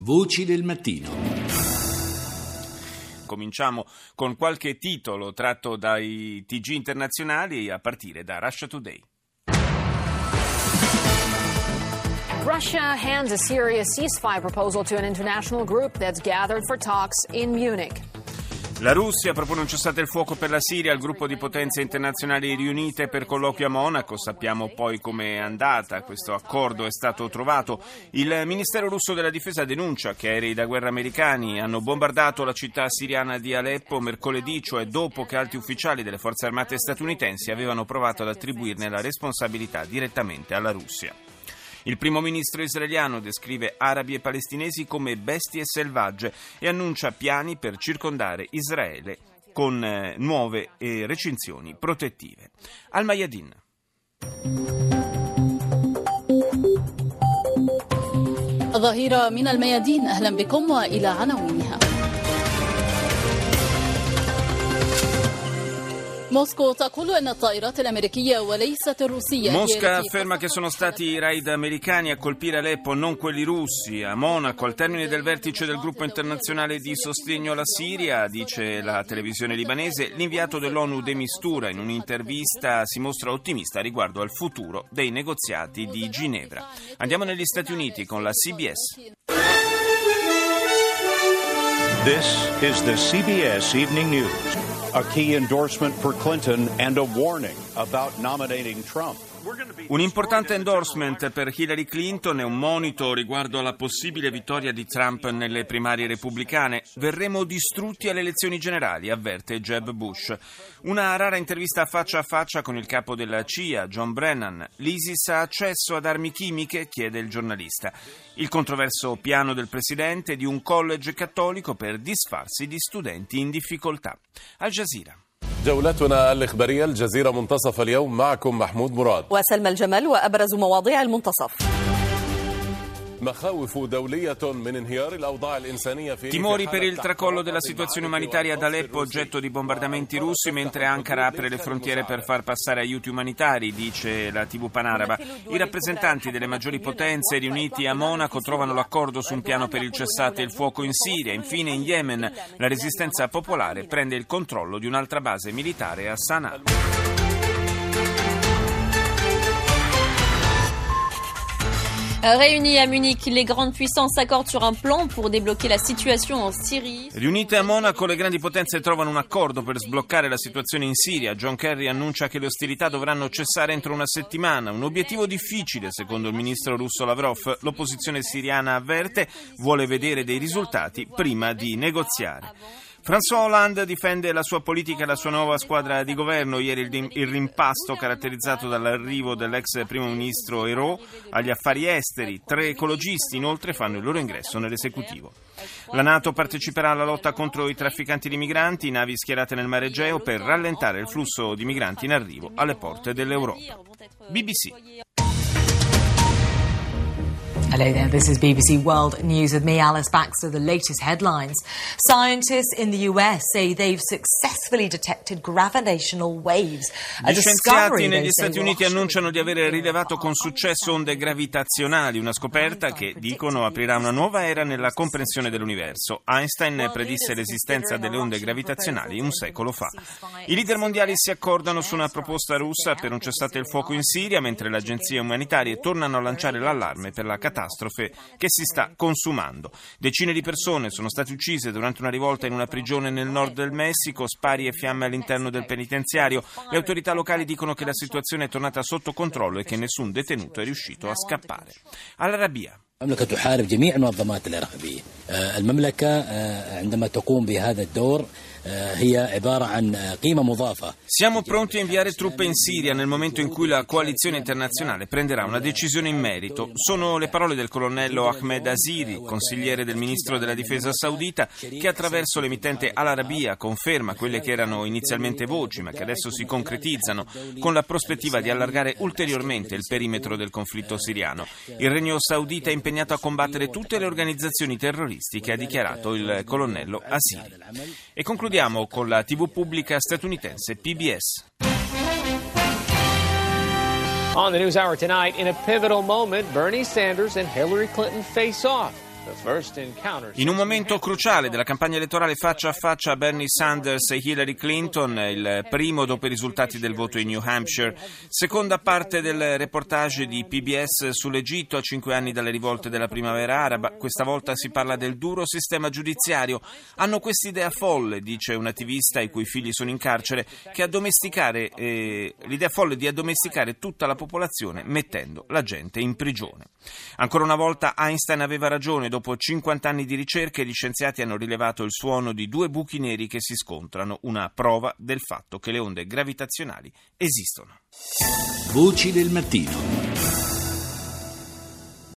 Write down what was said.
Voci del mattino. Cominciamo con qualche titolo tratto dai TG internazionali a partire da Russia Today. Russia hands a Syria ceasefire proposal to an international group that's gathered for talks in Munich. La Russia propone un cessate il fuoco per la Siria al gruppo di potenze internazionali riunite per colloquio a Monaco. Sappiamo poi com'è andata. Questo accordo è stato trovato. Il Ministero russo della Difesa denuncia che aerei da guerra americani hanno bombardato la città siriana di Aleppo mercoledì, cioè dopo che alti ufficiali delle forze armate statunitensi avevano provato ad attribuirne la responsabilità direttamente alla Russia. Il primo ministro israeliano descrive arabi e palestinesi come bestie selvagge e annuncia piani per circondare Israele con nuove recinzioni protettive. Al-Mayadin. ظهيرة من الميادين أهلا بكم وإلى عناوينها. Mosca afferma che sono stati i raid americani a colpire Aleppo, non quelli russi. A Monaco, al termine del vertice del gruppo internazionale di sostegno alla Siria, dice la televisione libanese, l'inviato dell'ONU de Mistura in un'intervista si mostra ottimista riguardo al futuro dei negoziati di Ginevra. Andiamo negli Stati Uniti con la CBS. This is the CBS Evening News. A key endorsement for Clinton and a warning about nominating Trump. Un importante endorsement per Hillary Clinton e un monito riguardo alla possibile vittoria di Trump nelle primarie repubblicane. Verremo distrutti alle elezioni generali, avverte Jeb Bush. Una rara intervista faccia a faccia con il capo della CIA, John Brennan. L'ISIS ha accesso ad armi chimiche? Chiede il giornalista. Il controverso piano del presidente di un college cattolico per disfarsi di studenti in difficoltà. Al Jazeera. جولتنا الإخبارية الجزيرة منتصف اليوم معكم محمود مراد وسلمى الجمال وأبرز مواضيع المنتصف. Timori per il tracollo della situazione umanitaria ad Aleppo, oggetto di bombardamenti russi, mentre Ankara apre le frontiere per far passare aiuti umanitari, dice la TV panaraba. I rappresentanti delle maggiori potenze riuniti a Monaco trovano l'accordo su un piano per il cessate il fuoco in Siria. Infine in Yemen la resistenza popolare prende il controllo di un'altra base militare a Sana'a. Réunies à Munich, les grandes puissances s'accordent sur un plan pour débloquer la situation en Syrie. Riunite a Monaco, le grandi potenze trovano un accordo per sbloccare la situazione in Siria. John Kerry annuncia che le ostilità dovranno cessare entro una settimana. Un obiettivo difficile, secondo il ministro russo Lavrov. L'opposizione siriana avverte, vuole vedere dei risultati prima di negoziare. François Hollande difende la sua politica e la sua nuova squadra di governo. Ieri il rimpasto caratterizzato dall'arrivo dell'ex primo ministro Ayrault agli affari esteri. 3 ecologisti inoltre fanno il loro ingresso nell'esecutivo. La NATO parteciperà alla lotta contro i trafficanti di migranti, navi schierate nel Mare Egeo per rallentare il flusso di migranti in arrivo alle porte dell'Europa. BBC. Hello there, this is BBC World News with me, Alice Baxter. The latest headlines. Scientists in the US say they've successfully detected gravitational waves. Gli scienziati negli Stati Uniti annunciano di aver rilevato con successo onde gravitazionali, una scoperta che, dicono, aprirà una nuova era nella comprensione dell'universo. Einstein predisse l'esistenza delle onde gravitazionali un secolo fa. I leader mondiali si accordano su una proposta russa per un cessate il fuoco in Siria, mentre le agenzie umanitarie tornano a lanciare l'allarme per la catastrofe che si sta consumando. Decine di persone sono state uccise durante una rivolta in una prigione nel nord del Messico, spari e fiamme all'interno del penitenziario. Le autorità locali dicono che la situazione è tornata sotto controllo e che nessun detenuto è riuscito a scappare. Al-Arabiya. المملكة تحارب جميع المنظمات الإرهابية. المملكة عندما تقوم بهذا الدور هي عبارة عن قيمة مضافة. Siamo pronti a inviare truppe in Siria nel momento in cui la coalizione internazionale prenderà una decisione in merito. Sono le parole del colonnello Ahmed Aziri, consigliere del ministro della difesa saudita, che attraverso l'emittente Al-Arabiya conferma quelle che erano inizialmente voci, ma che adesso si concretizzano, con la prospettiva di allargare ulteriormente il perimetro del conflitto siriano. Il regno saudita è impegnato a combattere tutte le organizzazioni terroristiche, ha dichiarato il colonnello Aziri. E concludiamo con la TV pubblica statunitense PBS. On the NewsHour tonight, in a pivotal moment, Bernie Sanders and Hillary Clinton face off. In un momento cruciale della campagna elettorale faccia a faccia Bernie Sanders e Hillary Clinton, il primo dopo i risultati del voto in New Hampshire. Seconda parte del reportage di PBS sull'Egitto a 5 anni dalle rivolte della primavera araba. Questa volta si parla del duro sistema giudiziario. Hanno quest'idea folle, dice un attivista i cui figli sono in carcere, che l'idea folle di addomesticare tutta la popolazione mettendo la gente in prigione. Ancora una volta Einstein aveva ragione. Dopo 50 anni di ricerche, gli scienziati hanno rilevato il suono di 2 buchi neri che si scontrano, una prova del fatto che le onde gravitazionali esistono. Voci del mattino.